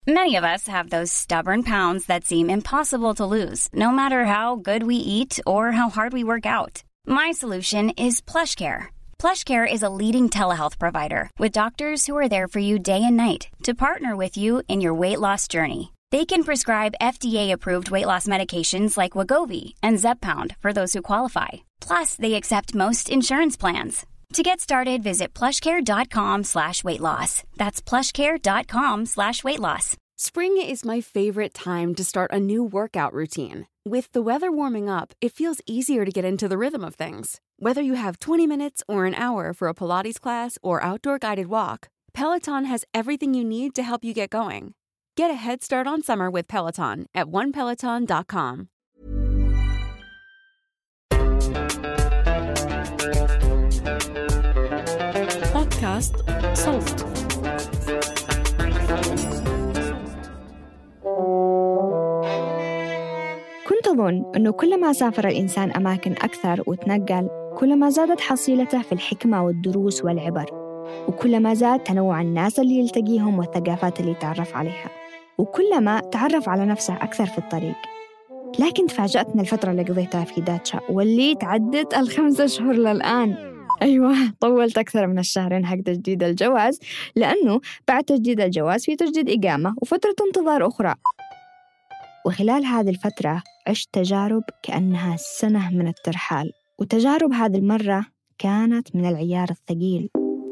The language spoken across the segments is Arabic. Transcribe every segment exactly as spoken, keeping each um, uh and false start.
Many of us have those stubborn pounds that seem impossible to lose, no matter how good we eat or how hard we work out. My solution is PlushCare. PlushCare is a leading telehealth provider with doctors who are there for you day and night to partner with you in your weight loss journey. They can prescribe F D A-approved weight loss medications like Wegovy and Zepbound for those who qualify. Plus, they accept most insurance plans. To get started, visit plushcare.com slash weight loss. That's plushcare.com slash weight loss. Spring is my favorite time to start a new workout routine. With the weather warming up, it feels easier to get into the rhythm of things. Whether you have twenty minutes or an hour for a Pilates class or outdoor guided walk, Peloton has everything you need to help you get going. Get a head start on summer with Peloton at one peloton dot com. بودكاست صوت. كنت أظن أنه كلما سافر الإنسان أماكن أكثر وتنقل كلما زادت حصيلته في الحكمة والدروس والعبر، وكلما زاد تنوع الناس اللي يلتقيهم والثقافات اللي يتعرف عليها، وكلما تعرف على نفسه أكثر في الطريق. لكن تفاجأتنا الفترة اللي قضيتها في داتشا واللي تعدت الخمسة شهور للآن. أيوة، طولت أكثر من الشهرين حق تجديد الجواز، لأنه بعد تجديد الجواز في تجديد إقامة وفترة انتظار أخرى. وخلال هذه الفترة عشت تجارب كأنها سنة من الترحال، وتجارب هذه المرة كانت من العيار الثقيل.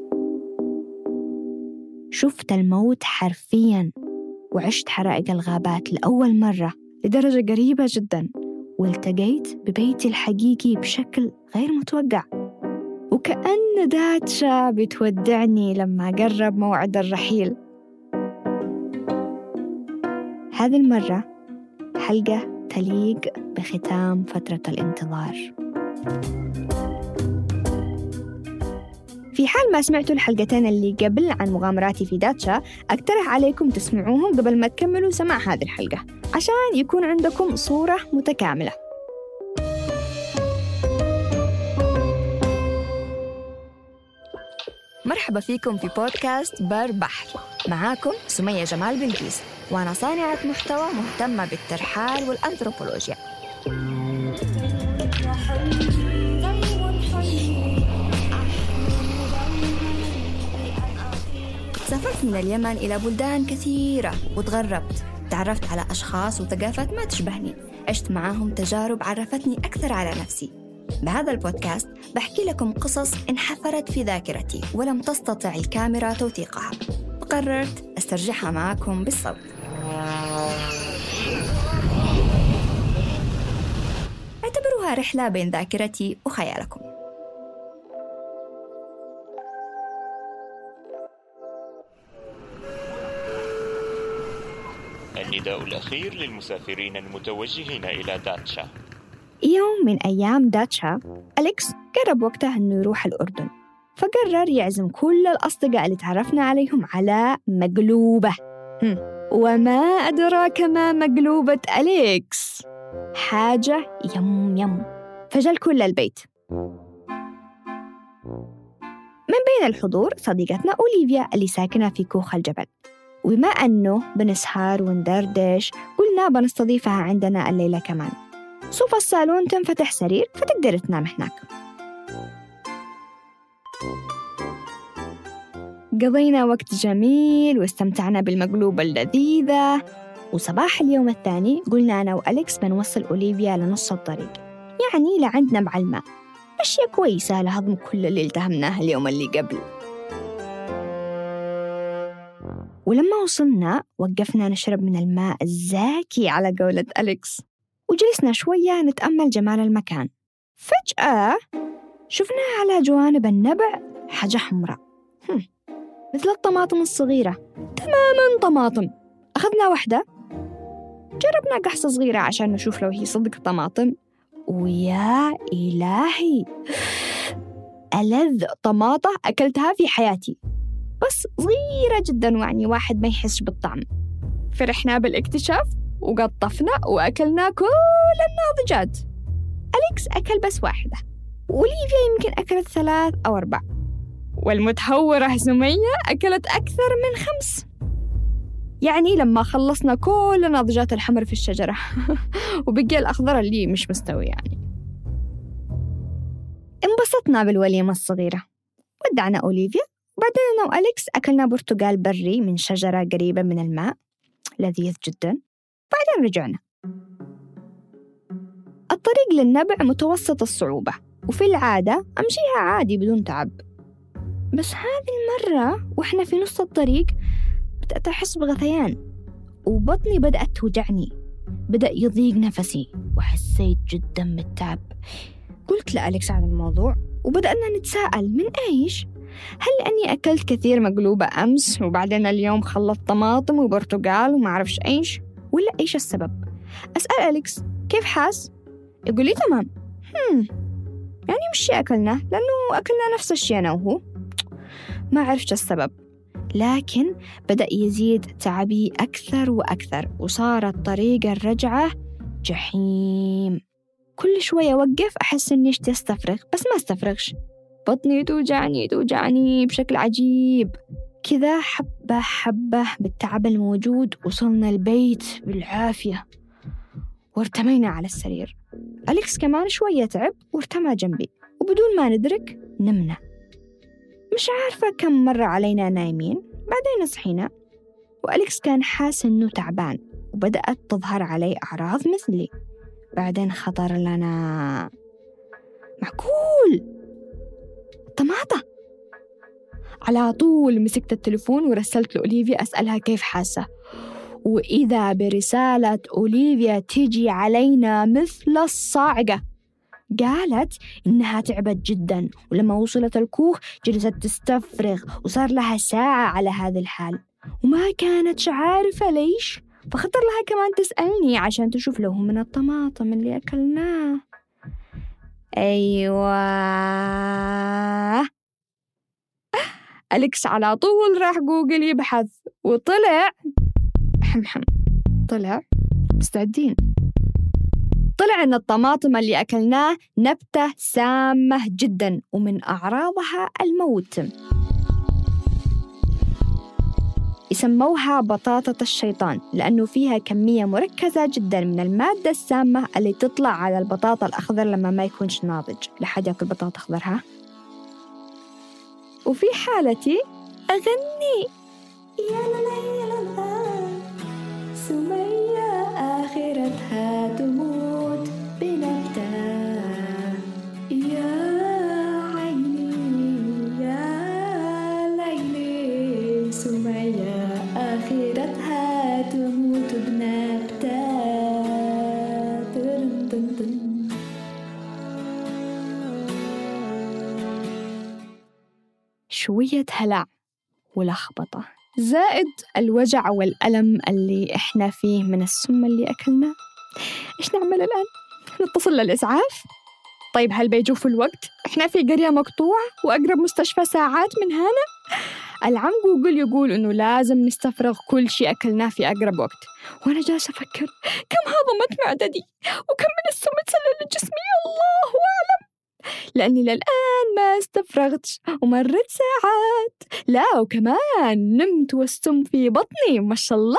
شفت الموت حرفياً، وعشت حرائق الغابات لأول مرة لدرجة قريبة جداً، والتقيت ببيتي الحقيقي بشكل غير متوقع، وكأن داتشا بتودعني لما قرب موعد الرحيل. هذه المرة حلقة تليق بختام فترة الانتظار. في حال ما سمعتوا الحلقتين اللي قبل عن مغامراتي في داتشا، أقترح عليكم تسمعوهم قبل ما تكملوا سماع هذه الحلقة عشان يكون عندكم صورة متكاملة. مرحبا فيكم في بودكاست بر بحر، معاكم سمية جمال بلقيس، وأنا صانعة محتوى مهتمة بالترحال والأنثروبولوجيا. سافرت من اليمن إلى بلدان كثيرة وتغربت، تعرفت على أشخاص وثقافات ما تشبهني، عشت معاهم تجارب عرفتني أكثر على نفسي. بهذا البودكاست بحكي لكم قصص انحفرت في ذاكرتي ولم تستطع الكاميرا توثيقها، وقررت أسترجعها معكم بالصوت. اعتبروها رحلة بين ذاكرتي وخيالكم. النداء الأخير للمسافرين المتوجهين إلى داتشا. يوم من أيام داتشا، أليكس قرب وقته أنه يروح الأردن، فقرر يعزم كل الأصدقاء اللي تعرفنا عليهم على مقلوبة. هم. وما أدراك ما مقلوبة أليكس، حاجة يم يم. فجل كل البيت. من بين الحضور صديقتنا أوليفيا اللي ساكنة في كوخ الجبل، وبما أنه بنسهر وندردش قلنا بنستضيفها عندنا الليلة كمان. صوف الصالون تنفتح سرير فتقدر تنام هناك. قضينا وقت جميل واستمتعنا بالمقلوبة اللذيذة، وصباح اليوم الثاني قلنا أنا وأليكس بنوصل أوليفيا لنص الطريق، يعني لعندنا معلمة، أشياء كويسة لهضم كل اللي التهمناه اليوم اللي قبل. ولما وصلنا وقفنا نشرب من الماء الزاكي على قولة أليكس، وجلسنا شوية نتأمل جمال المكان. فجأة شفنا على جوانب النبع حاجة حمراء مثل الطماطم الصغيرة تماماً. طماطم. أخذنا واحدة، جربنا قحصة صغيرة عشان نشوف لو هي صدق طماطم، ويا إلهي ألذ طماطة أكلتها في حياتي، بس صغيرة جداً، يعني واحد ما يحسش بالطعم. فرحنا بالاكتشاف وقطفنا وأكلنا كل الناضجات. أليكس أكل بس واحدة، وأوليفيا يمكن أكلت ثلاث أو أربع، والمتهورة سمية أكلت أكثر من خمس. يعني لما خلصنا كل الناضجات الحمر في الشجرة وبقي الأخضر اللي مش مستوي يعني. انبسطنا بالوليمة الصغيرة، ودعنا أوليفيا، وبعدين أنا وأليكس أكلنا برتقال بري من شجرة قريبة من الماء لذيذ جدا. بعدين رجعنا. الطريق للنبع متوسط الصعوبة، وفي العادة أمشيها عادي بدون تعب، بس هذه المرة وإحنا في نص الطريق بدأت أحس بغثيان وبطني بدأت توجعني، بدأ يضيق نفسي وحسيت جدا بالتعب. قلت لأليكس عن الموضوع وبدأنا نتساءل من إيش؟ هل لأني أكلت كثير مقلوبة أمس وبعدين اليوم خلط طماطم وبرتقال وما أعرفش إيش، ولا إيش السبب؟ أسأل أليكس كيف حاس؟ يقول لي تمام. هم يعني مش أكلنا لأنه أكلنا نفس الشيء أنا وهو. ما عرفت السبب، لكن بدأ يزيد تعبي أكثر وأكثر، وصارت طريق الرجعة جحيم. كل شوية أوقف أحس إني اشتي أستفرغ بس ما استفرغش، بطني توجعني توجعني بشكل عجيب كذا. حبة حبة بالتعب الموجود وصلنا البيت بالعافية وارتمينا على السرير. أليكس كمان شوية تعب وارتمى جنبي، وبدون ما ندرك نمنا. مش عارفة كم مرة علينا نايمين. بعدين صحينا وأليكس كان حاس إنه تعبان وبدأت تظهر عليه أعراض مثلي. بعدين خطر لنا معقول طماطة. على طول مسكت التليفون ورسلت لأوليفيا أسألها كيف حاسة، وإذا برسالة أوليفيا تيجي علينا مثل الصاعقة. قالت إنها تعبت جدا، ولما وصلت الكوخ جلست تستفرغ وصار لها ساعة على هذا الحال وما كانت عارفة ليش. فخطر لها كمان تسألني عشان تشوف له من الطماطم اللي أكلناه. أيوة، أليكس على طول راح جوجل يبحث وطلع حمحم طلع مستعدين طلع إن الطماطم اللي أكلناه نبتة سامة جدا ومن أعراضها الموت. يسموها بطاطة الشيطان لأنه فيها كمية مركزة جدا من المادة السامة اللي تطلع على البطاطا الأخضر لما ما يكونش ناضج. لحد يأكل بطاطا أخضر ها؟ وفي حالتي أغني يا لا يا لا سمية آخرتها تموت بنبتة، يا عيني يا ليلي سمية آخرتها تموت بنبتة. شوية هلع ولخبطة زائد الوجع والألم اللي إحنا فيه من السم اللي أكلناه. إيش نعمل الآن؟ نتصل للإسعاف؟ طيب هل بيجوا الوقت؟ إحنا في قرية مقطوعة وأقرب مستشفى ساعات من هنا. العم جوجل يقول إنه لازم نستفرغ كل شيء أكلناه في أقرب وقت، وأنا جالسة أفكر كم هضمت معدتي وكم من السم تسلل لجسمي الله أعلم، لأني للآن ما استفرغتش ومرت ساعات. لا وكمان نمت والسم في بطني ما شاء الله.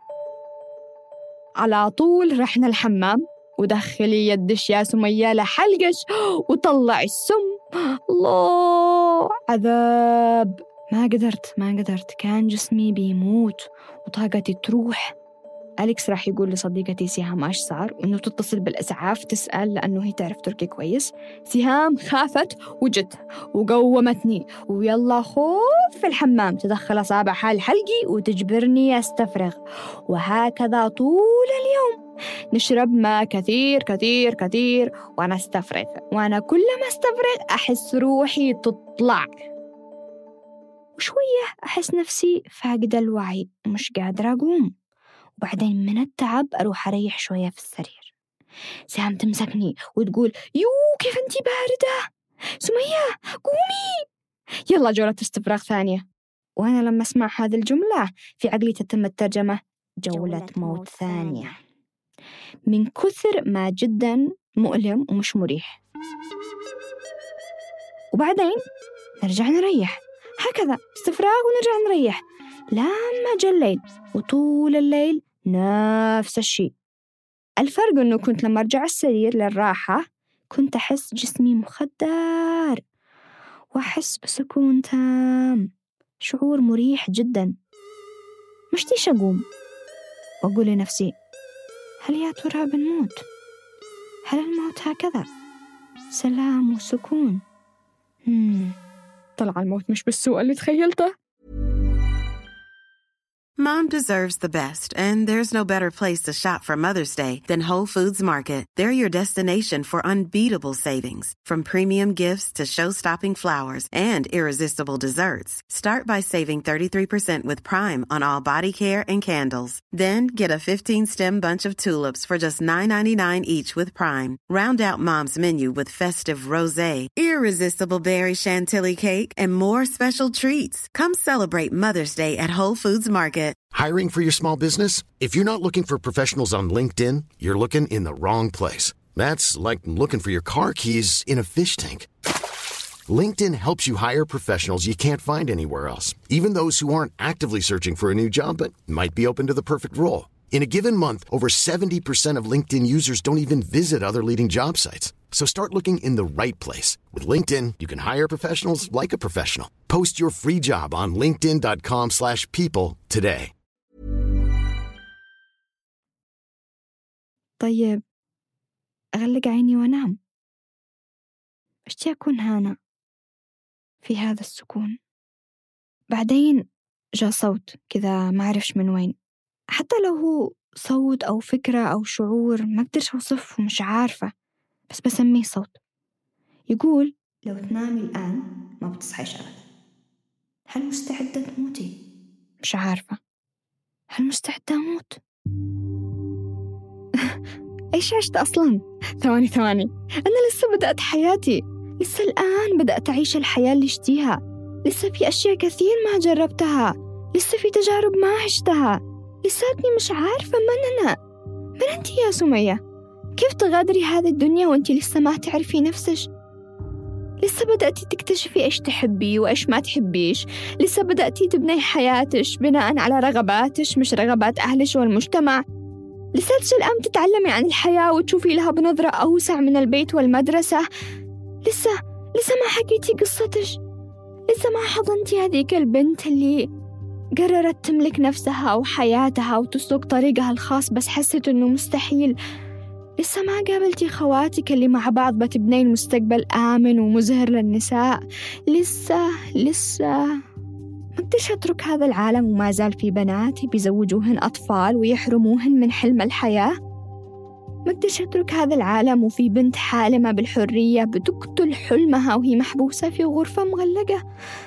على طول رحنا الحمام ودخلي يدش يا سمية لحلقش وطلع السم. الله عذاب، ما قدرت ما قدرت كان جسمي بيموت وطاقتي تروح. أليكس راح يقول لصديقتي سهام إيش صار وإنه تتصل بالإسعاف تسأل لأنه هي تعرف تركي كويس. سهام خافت وجت وقومتني ويلا خوف في الحمام تدخل أصابعها لحلقي وتجبرني أستفرغ، وهكذا طول اليوم نشرب ماء كثير كثير كثير وأنا أستفرغ، وأنا كل ما أستفرغ أحس روحي تطلع وشوية أحس نفسي فاقدة الوعي ومش قادرة أقوم، وبعدين من التعب أروح أريح شوية في السرير. سهام تمسكني وتقول يو كيف أنتي باردة سمية قومي يلا جولة استفراغ ثانية. وأنا لما أسمع هذه الجملة في عقلي تتم الترجمة جولة موت ثانية، من كثر ما جدا مؤلم ومش مريح. وبعدين نرجع نريح، هكذا استفراغ ونرجع نريح. لما جاء الليل وطول الليل نفس الشيء. الفرق أنه كنت لما أرجع السرير للراحة كنت أحس جسمي مخدر وأحس بسكون تام، شعور مريح جدا. مشتيش أقوم وأقول لنفسي هل يا ترى بنموت؟ هل الموت هكذا سلام وسكون؟ مم. طلع الموت مش بالسوء اللي تخيلته. Mom deserves the best, and there's no better place to shop for Mother's Day than Whole Foods Market. They're your destination for unbeatable savings, from premium gifts to show-stopping flowers and irresistible desserts. Start by saving thirty-three percent with Prime on all body care and candles. Then get a fifteen-stem bunch of tulips for just nine ninety-nine each with Prime. Round out Mom's menu with festive rosé, irresistible berry chantilly cake, and more special treats. Come celebrate Mother's Day at Whole Foods Market. Hiring for your small business? If you're not looking for professionals on LinkedIn, you're looking in the wrong place. That's like looking for your car keys in a fish tank. LinkedIn helps you hire professionals you can't find anywhere else, even those who aren't actively searching for a new job but might be open to the perfect role. In a given month, over seventy percent of LinkedIn users don't even visit other leading job sites. So start looking in the right place. With LinkedIn, you can hire professionals like a professional. Post your free job on linkedin dot com slash people today. طيب أغلق عيني وأنام. أشتي أكون هنا في هذا السكون. بعدين جاء صوت كذا ما أعرفش من وين، حتى لو هو صوت أو فكرة أو شعور ما أقدرش أوصفه، مش عارفة، بس بسميه صوت. يقول لو تنامي الآن ما بتصحيش أبدا. هل مستعدة تموتي؟ مش عارفة. هل مستعدة أموت؟ إيش عشت أصلاً؟ ثواني ثواني أنا لسه بدأت حياتي، لسه الآن بدأت أعيش الحياة اللي اشتيها، لسه في أشياء كثير ما جربتها، لسه في تجارب ما عشتها، لساتني مش عارفة من أنا. من أنت يا سمية؟ كيف تغادري هذه الدنيا وأنت لسه ما تعرفي نفسك؟ لسه بدأتي تكتشفي إيش تحبي وإيش ما تحبيش، لسه بدأتي تبني حياتك بناء على رغباتك مش رغبات أهلك والمجتمع، لساتك الآن تتعلمي عن الحياة وتشوفي لها بنظرة أوسع من البيت والمدرسة. لسه لسه ما حكيتي قصتك، لسه ما حضنتي هذيك البنت اللي قررت تملك نفسها وحياتها وتسلك طريقها الخاص بس حست إنه مستحيل. لسه ما قابلتي خواتك اللي مع بعض بتبنين مستقبل آمن ومزهر للنساء. لسه لسه ما قدرش أترك هذا العالم وما زال في بنات بيزوجوهن أطفال ويحرموهن من حلم الحياة. ما قدرش أترك هذا العالم وفي بنت حالمة بالحرية بتقتل حلمها وهي محبوسة في غرفة مغلقة.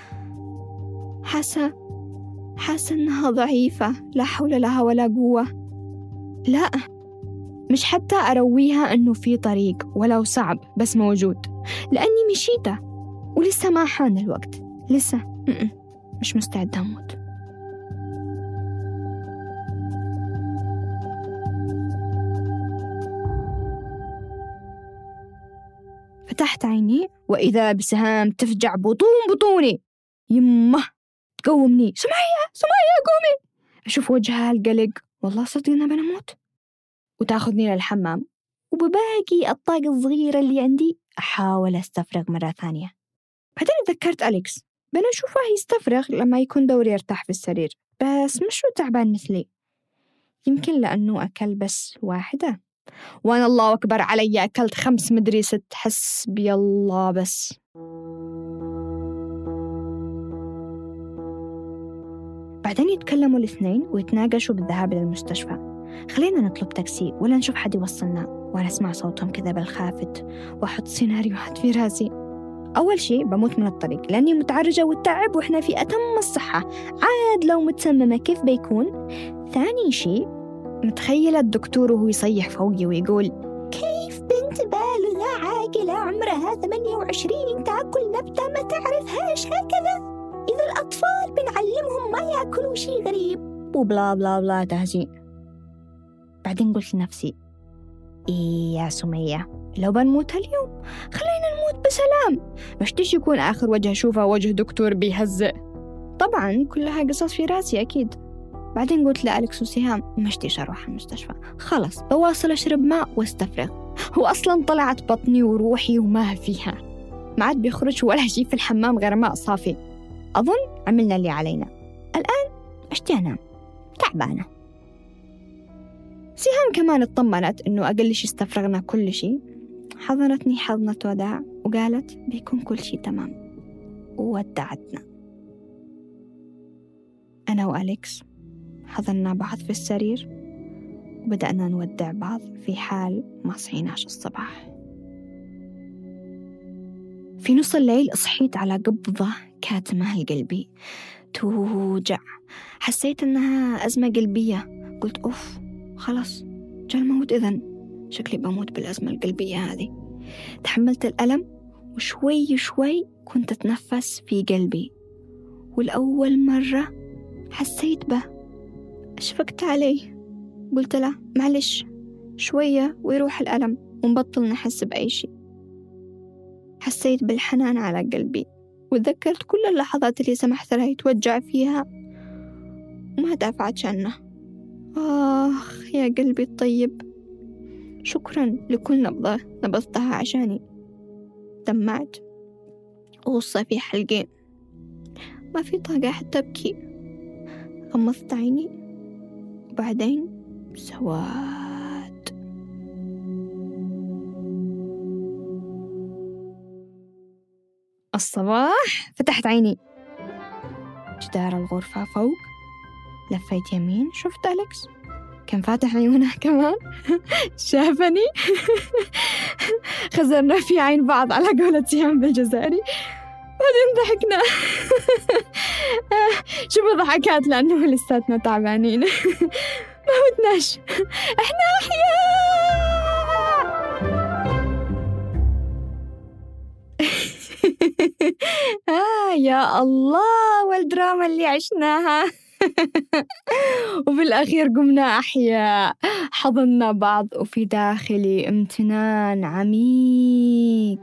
حاسة حاسة إنها ضعيفة، لا حول لها ولا قوة. لا، مش حتى أرويها إنه في طريق ولو صعب بس موجود، لأني مشيته ولسه ما حان الوقت. لسه م-م. مش مستعدة أموت. فتحت عيني وإذا بسهام تفجع بطون بطوني. يمه تقومني، سمية سمية قومي. أشوف وجهها القلق، والله صدقنا بنموت. وتاخذني للحمام وبباقي الطاقة الصغيرة اللي عندي أحاول أستفرغ مرة ثانية. بعدين تذكرت أليكس، بنشوفه يستفرغ لما يكون دوري يرتاح في السرير، بس مش تعبان مثلي. يمكن لأنه أكل بس واحدة وأنا الله أكبر علي أكلت خمس مدري ست. حسبي الله. بس بعدين يتكلموا الاثنين ويتناقشوا بالذهاب إلى المستشفى. خلينا نطلب تاكسي ولا نشوف حد يوصلنا. وأنا أسمع صوتهم كذا بالخافت وأحط سيناريوهات في راسي. أول شيء بموت من الطريق لأني متعرجة والتعب وإحنا في أتم الصحة، عاد لو متسممة كيف بيكون؟ ثاني شيء متخيلة الدكتور وهو يصيح فوقي ويقول كيف بنت بالغة عاقلة عمرها ثمانية وعشرين تأكل نبتة ما تعرفهاش هكذا؟ إذا الأطفال بنعلمهم ما يأكلوا شيء غريب وبلا بلا بلا تهزيء. بعدين قلت لنفسي إيه يا سمية، لو بنموت اليوم خلينا نموت بسلام. مشتيش يكون آخر وجه أشوفه وجه دكتور بيهزئ. طبعا كلها قصص في راسي أكيد. بعدين قلت لأليكس وسهام مشتيش أروح المستشفى، خلص بواصل أشرب ماء واستفرغ. هو أصلا طلعت بطني وروحي وما فيها، ما عاد بيخرج ولا شيء في الحمام غير ماء صافي. أظن عملنا اللي علينا، الآن أشتي أنام تعبانة. سهام كمان اطمنت إنه أقل شيء استفرغنا كل شيء، حضنتني حضنة وداع وقالت بيكون كل شيء تمام، وودعتنا. أنا وأليكس حضننا بعض في السرير وبدأنا نودع بعض في حال ما صحيناش الصباح. في نص الليل صحيت على قبضة كاتمة لقلبي توجع، حسيت إنها أزمة قلبية. قلت أوف خلاص جاء الموت، إذن شكلي بموت بالأزمة القلبية هذه. تحملت الألم وشوي شوي كنت أتنفس في قلبي، والأول مرة حسيت به. أشفقت عليه، قلت له معلش شوية ويروح الألم ونبطل نحس بأي شيء. حسيت بالحنان على قلبي وتذكرت كل اللحظات اللي سمحت له يتوجع فيها وما دافعت عنه. آخ يا قلبي الطيب، شكرا لكل نبضة نبضتها عشاني. دمعت وغصة في حلقي، ما في طاقة حتى أبكي. غمضت عيني وبعدين سواد. الصباح فتحت عيني، جدار الغرفة فوق، لفيت يمين شفت أليكس كان فاتح عيونه كمان شافني خزرنا في عين بعض على قولة سهام بالجزائري، بعدين ضحكنا شوف ضحكات لأنه لساتنا تعبانين ما متناش، احنا أحياء. آه يا الله والدراما اللي عشناها وفي الأخير قمنا أحياء، حضننا بعض وفي داخلي امتنان عميق،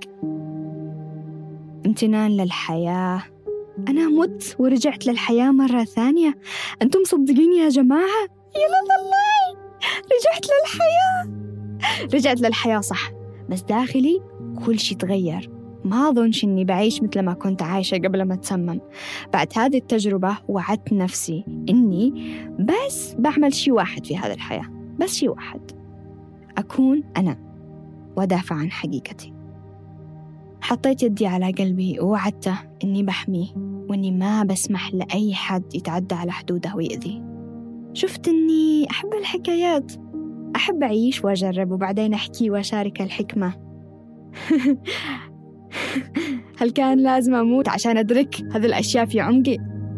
امتنان للحياة. أنا مت ورجعت للحياة مرة ثانية. أنتم صدقين يا جماعة؟ يلا الله رجعت للحياة، رجعت للحياة صح، بس داخلي كل شيء تغير. ما أظنش أني بعيش مثل ما كنت عايشة قبل ما أتسمم. بعد هذه التجربة وعدت نفسي أني بس بعمل شيء واحد في هذه الحياة، بس شيء واحد، أكون أنا ودافع عن حقيقتي. حطيت يدي على قلبي ووعدته أني بحميه وأني ما بسمح لأي حد يتعدى على حدوده ويأذي. شفت أني أحب الحكايات، أحب أعيش وأجرب وبعدين أحكي وأشارك الحكمة. هل كان لازم أموت عشان أدرك هذه الأشياء في عمقي؟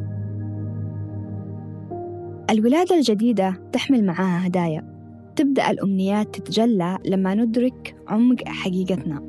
الولادة الجديدة تحمل معاها هدايا، تبدأ الأمنيات تتجلى لما ندرك عمق حقيقتنا.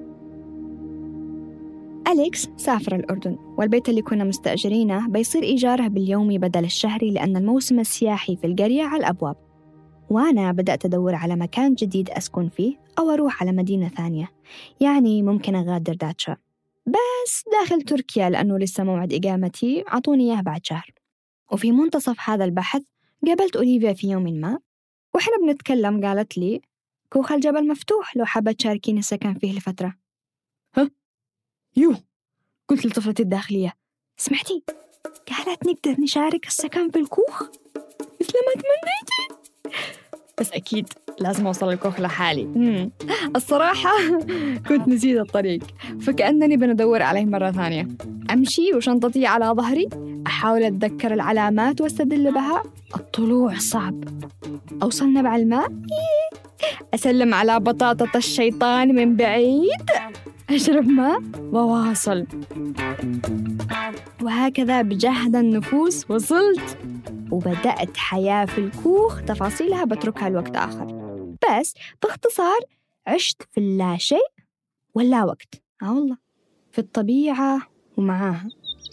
أليكس سافر الأردن، والبيت اللي كنا مستأجرينه بيصير إيجاره باليومي بدل الشهري لأن الموسم السياحي في القرية على الأبواب. وأنا بدأت أدور على مكان جديد أسكن فيه أو أروح على مدينة ثانية، يعني ممكن أغادر داتشا، بس داخل تركيا لأنه لسه موعد إقامتي عطوني إياه بعد شهر. وفي منتصف هذا البحث قابلت أوليفيا في يوم ما، وإحنا بنتكلم قالت لي كوخ الجبل مفتوح لو حابة تشاركين السكن فيه لفترة. ها؟ يو، قلت لطفلتي الداخلية سمعتي؟ قالت نقدر نشارك السكن في الكوخ مثل ما تمنيتي، بس أكيد لازم أوصل الكوخ لحالي. مم. الصراحة كنت نسيت الطريق، فكأنني بندور عليه مرة ثانية. أمشي وشنطتي على ظهري، أحاول أتذكر العلامات واستدل بها. الطلوع صعب. أوصل نبع الماء، أسلم على بطاطة الشيطان من بعيد، أشرب ماء وواصل، وهكذا بجهد النفوس وصلت وبدأت حياة في الكوخ، تفاصيلها بتركها لوقت آخر. بس باختصار عشت في اللا شيء ولا وقت، آه والله، في الطبيعة ومعاها.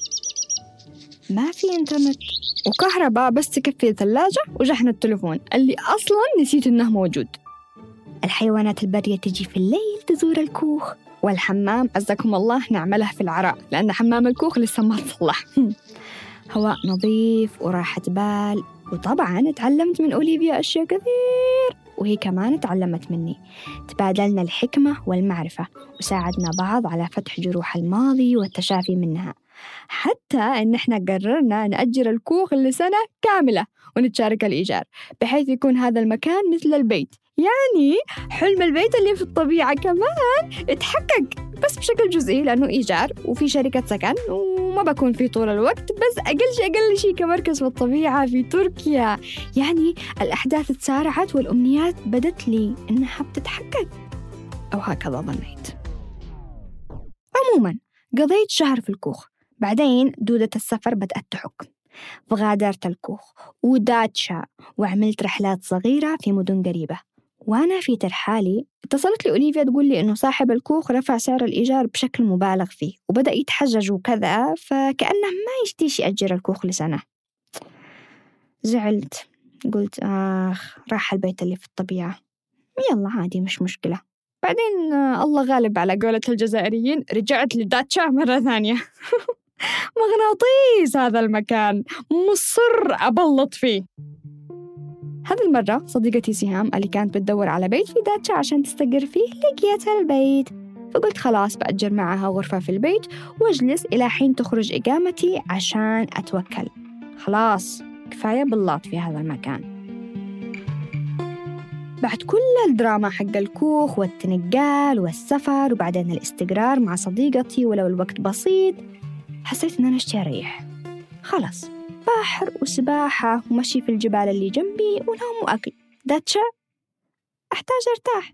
ما في إنترنت وكهرباء، بس تكفي الثلاجة وشحن التلفون اللي أصلاً نسيت إنه موجود. الحيوانات البرية تجي في الليل تزور الكوخ، والحمام عزكم الله نعمله في العراء لأن حمام الكوخ لسه ما تصلح. هواء نظيف وراحة بال. وطبعاً تعلمت من أوليفيا أشياء كثير، وهي كمان تعلمت مني. تبادلنا الحكمة والمعرفة، وساعدنا بعض على فتح جروح الماضي والتشافي منها. حتى إن إحنا قررنا نأجر الكوخ لسنة كاملة ونتشارك الإيجار، بحيث يكون هذا المكان مثل البيت. يعني حلم البيت اللي في الطبيعة كمان اتحقق، بس بشكل جزئي لأنه إيجار وفي شركة سكن وما بكون فيه طول الوقت، بس أقل شيء أقل شيء كمركز في الطبيعة في تركيا. يعني الأحداث تسارعت والأمنيات بدت لي إنها بتتحقق، أو هكذا ظنيت. عموما قضيت شهر في الكوخ، بعدين دودة السفر بدأت تحك، فغادرت الكوخ وداتشا وعملت رحلات صغيرة في مدن قريبة. وأنا في ترحالي اتصلت لي أوليفيا تقول لي إنه صاحب الكوخ رفع سعر الإيجار بشكل مبالغ فيه وبدأ يتحجج وكذا، فكأنه ما يشتيش يأجر الكوخ لسنة. زعلت، قلت آخ راح البيت اللي في الطبيعة، يلا عادي مش مشكلة. بعدين الله غالب على قولة الجزائريين، رجعت لداتشا مرة ثانية. مغناطيس هذا المكان، مصر أبلط فيه. هذه المرة صديقتي سهام اللي كانت بتدور على بيت في داتشا عشان تستقر فيه لقيت البيت، فقلت خلاص بأجر معها غرفة في البيت واجلس إلى حين تخرج إقامتي عشان أتوكل. خلاص كفاية بلاط في هذا المكان. بعد كل الدراما حق الكوخ والتنقال والسفر وبعدين الاستقرار مع صديقتي ولو الوقت بسيط، حسيت إن أنا اشتي أريح. خلاص بحر وسباحة ومشي في الجبال اللي جنبي ونوم وأكل. داتشا أحتاج أرتاح.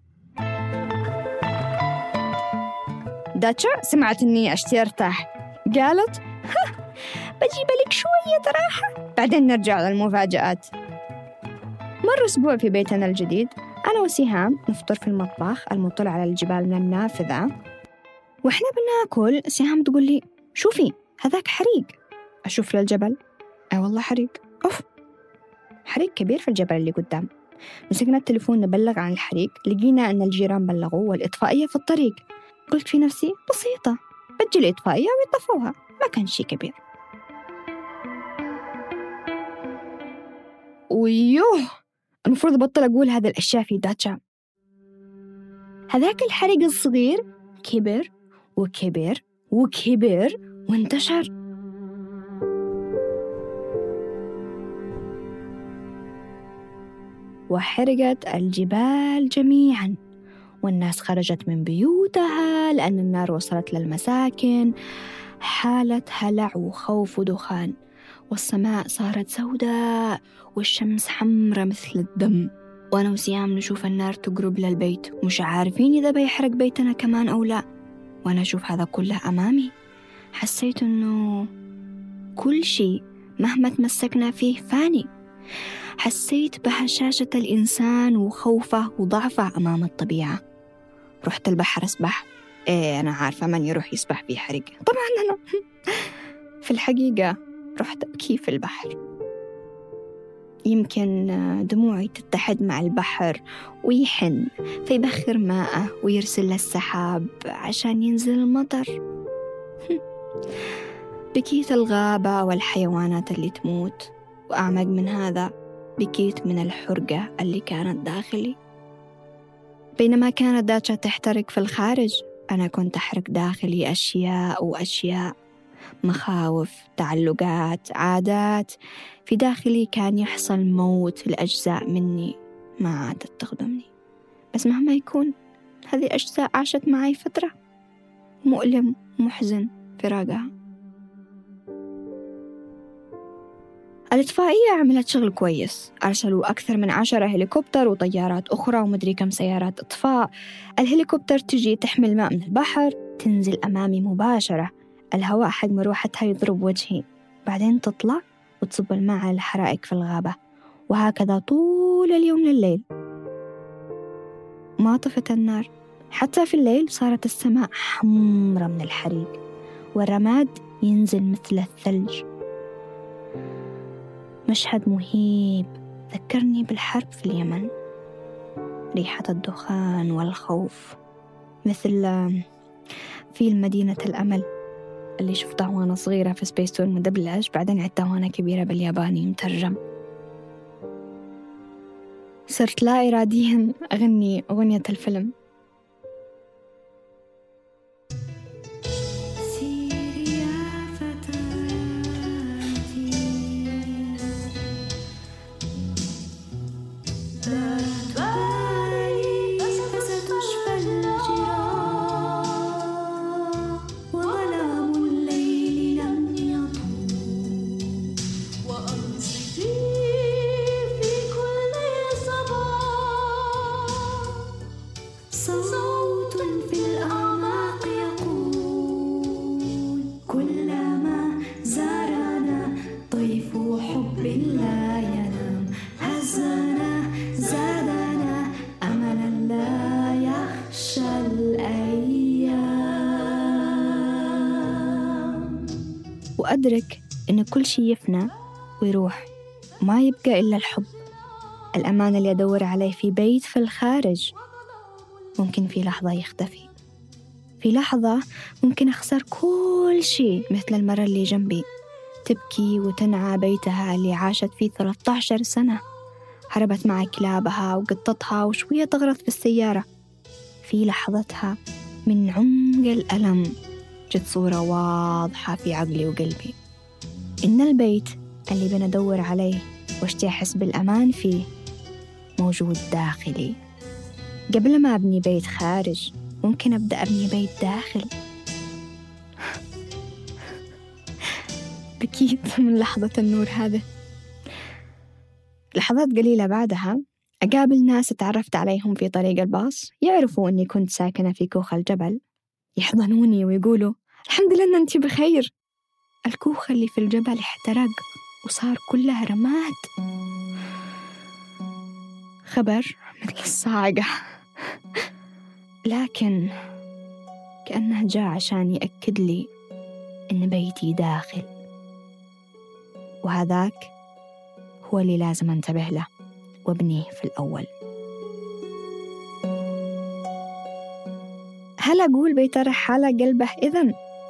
داتشا سمعت إني أشتي أرتاح، قالت بجيب لك شوية راحة بعدين نرجع للمفاجآت. مر أسبوع في بيتنا الجديد، أنا وسهام نفطر في المطبخ المطل على الجبال من النافذة، وإحنا بناكل سهام تقول لي شوفي هذاك حريق. أشوف للجبل، أي والله حريق، أوف حريق كبير في الجبل اللي قدام. مسكنا التليفون نبلغ عن الحريق، لقينا أن الجيران بلغوا والإطفائية في الطريق. قلت في نفسي بسيطة، بجي الإطفائية ويطفوها، ما كان شيء كبير. ويوه المفروض أبطل أقول هذه الأشياء في داتشا. هذاك الحريق الصغير كبر وكبر وكبر وانتشر. وحرقت الجبال جميعاً، والناس خرجت من بيوتها لأن النار وصلت للمساكن. حالة هلع وخوف ودخان، والسماء صارت سوداء والشمس حمرة مثل الدم. وأنا وسيام نشوف النار تقرب للبيت، مش عارفين إذا بيحرق بيتنا كمان أو لا. وأنا أشوف هذا كله أمامي، حسيت أنه كل شيء مهما تمسكنا فيه فاني. حسيت بهشاشة الإنسان وخوفه وضعفه أمام الطبيعة. رحت البحر أسبح. إيه أنا عارفة من يروح يسبح في حريق، طبعا أنا. في الحقيقة رحت أبكي في البحر. يمكن دموعي تتحد مع البحر ويحن فيبخر ماءه ويرسل للسحاب عشان ينزل المطر. بكيت الغابة والحيوانات اللي تموت، وأعمق من هذا بكيت من الحرقة اللي كانت داخلي. بينما كانت داتشا تحترق في الخارج، أنا كنت أحرق داخلي أشياء وأشياء، مخاوف، تعلقات، عادات. في داخلي كان يحصل موت لأجزاء مني ما عادت تخدمني. بس مهما يكون هذه أجزاء عاشت معي فترة، مؤلم ومحزن فراقها. الإطفائية عملت شغل كويس، أرسلوا أكثر من عشرة هليكوبتر وطيارات أخرى ومدري كم سيارات إطفاء. الهليكوبتر تجي تحمل ماء من البحر، تنزل أمامي مباشرة، الهواء حق مروحتها يضرب وجهي، بعدين تطلع وتصب الماء على الحرائق في الغابة، وهكذا طول اليوم لليل. ما طفت النار، حتى في الليل صارت السماء حمرة من الحريق، والرماد ينزل مثل الثلج. مشهد مهيب ذكرني بالحرب في اليمن، ريحة الدخان والخوف، مثل في مدينة الأمل اللي شفتها وأنا صغيرة في سبيس تون مدبلج، بعدين عدتها وأنا كبيرة بالياباني مترجم. صرت لا إراديا أغني أغنية الفيلم. وأدرك إن كل شيء يفنى ويروح، ما يبقى إلا الحب، الأمان اللي أدور عليه في بيت في الخارج. ممكن في لحظة يختفي، في لحظة ممكن أخسر كل شيء، مثل المرة اللي جنبي تبكي وتنعى بيتها اللي عاشت فيه ثلاثة عشر سنة، هربت مع كلابها وقطتها وشوية تغرط في السيارة. في لحظتها من عمق الألم جت صورة واضحة في عقلي وقلبي، إن البيت اللي بندور عليه واشتي أحس بالأمان فيه موجود داخلي. قبل ما أبني بيت خارج ممكن أبدأ أبني بيت داخل. بكيت من لحظة النور هذا. لحظات قليلة بعدها أقابل ناس اتعرفت عليهم في طريق الباص، يعرفوا أني كنت ساكنة في كوخ الجبل، يحضنوني ويقولوا الحمد لله أن أنت بخير. الكوخ اللي في الجبل احترق وصار كلها رماد. خبر مثل الصاعقة، لكن كأنه جاء عشان يأكد لي إن بيتي داخل، وهذاك هو اللي لازم أنتبه له وابنيه في الأول. هل أقول بيت الرحالة قلبه إذن؟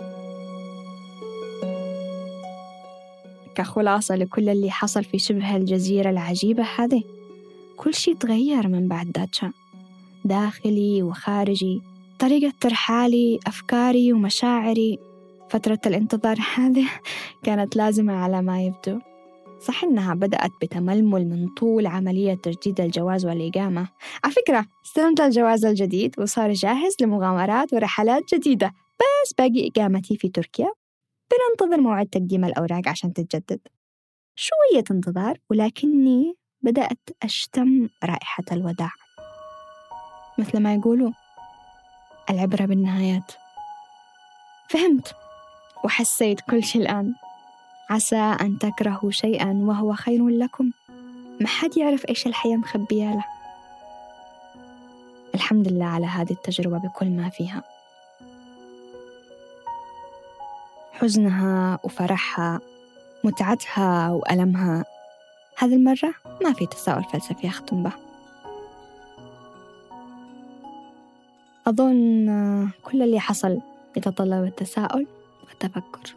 كخلاصة لكل اللي حصل في شبه الجزيرة العجيبة هذه، كل شيء تغير من بعد داتشا، داخلي وخارجي، طريقة ترحالي، أفكاري ومشاعري. فترة الانتظار هذه كانت لازمة على ما يبدو. صح إنها بدأت بتململ من طول عملية تجديد الجواز والإقامة. على فكرة استلمت الجواز الجديد وصار جاهز لمغامرات ورحلات جديدة، بس باقي إقامتي في تركيا. بننتظر موعد تقديم الأوراق عشان تتجدد. شوية انتظار، ولكني بدأت أشتم رائحة الوداع. مثل ما يقولوا العبرة بالنهايات. فهمت وحسيت كل شيء الآن. عسى أن تكرهوا شيئاً وهو خير لكم. ما حد يعرف إيش الحياة مخبية له. الحمد لله على هذه التجربة بكل ما فيها، حزنها وفرحها، متعتها وألمها. هذه المرة ما في تساؤل فلسفي أختم به. أظن كل اللي حصل يتطلب التساؤل والتفكر.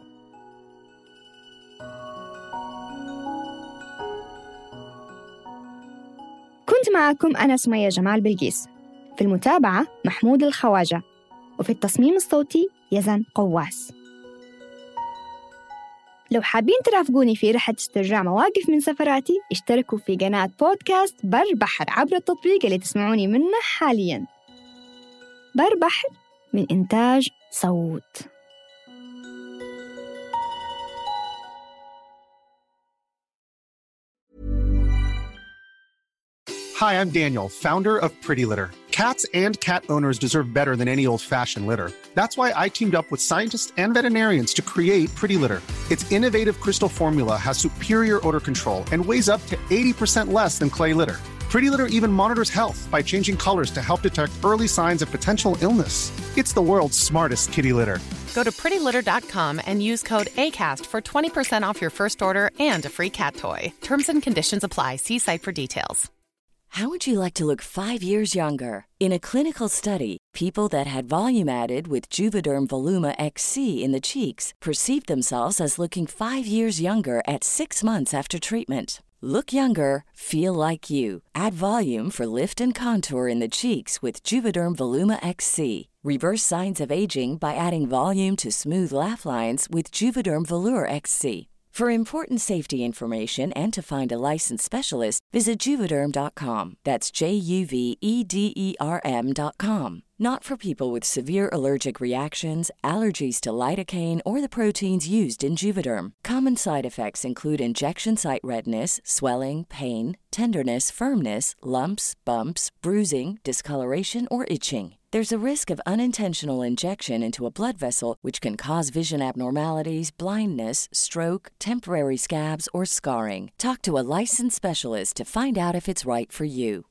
كنت معكم أنا سمية جمال بلقيس، في المتابعة محمود الخواجة، وفي التصميم الصوتي يزن قواس. لو حابين ترافقوني في رحلة استرجاع مواقف من سفراتي، اشتركوا في قناة بودكاست بر بحر عبر التطبيق اللي تسمعوني منه حالياً. بر بحر من إنتاج صوت. Hi, I'm Daniel, founder of Pretty Litter. Cats and cat owners deserve better than any old-fashioned litter. That's why I teamed up with scientists and veterinarians to create Pretty Litter. Its innovative crystal formula has superior odor control and weighs up to eighty percent less than clay litter. Pretty Litter even monitors health by changing colors to help detect early signs of potential illness. It's the world's smartest kitty litter. Go to pretty litter dot com and use code ACAST for twenty percent off your first order and a free cat toy. Terms and conditions apply. See site for details. How would you like to look five years younger? In a clinical study, people that had volume added with Juvederm Voluma X C in the cheeks perceived themselves as looking five years younger at six months after treatment. Look younger, feel like you. Add volume for lift and contour in the cheeks with Juvederm Voluma X C. Reverse signs of aging by adding volume to smooth laugh lines with Juvederm Volure X C. For important safety information and to find a licensed specialist, visit Juvederm dot com. That's J U V E D E R M dot com. Not for people with severe allergic reactions, allergies to lidocaine, or the proteins used in Juvederm. Common side effects include injection site redness, swelling, pain, tenderness, firmness, lumps, bumps, bruising, discoloration, or itching. There's a risk of unintentional injection into a blood vessel, which can cause vision abnormalities, blindness, stroke, temporary scabs, or scarring. Talk to a licensed specialist to find out if it's right for you.